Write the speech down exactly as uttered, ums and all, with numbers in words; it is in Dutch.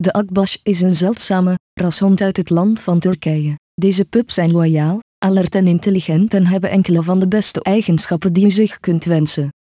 De Akbash is een zeldzame rashond uit het land van Turkije. Deze pups zijn loyaal, alert en intelligent en hebben enkele van de beste eigenschappen die u zich kunt wensen.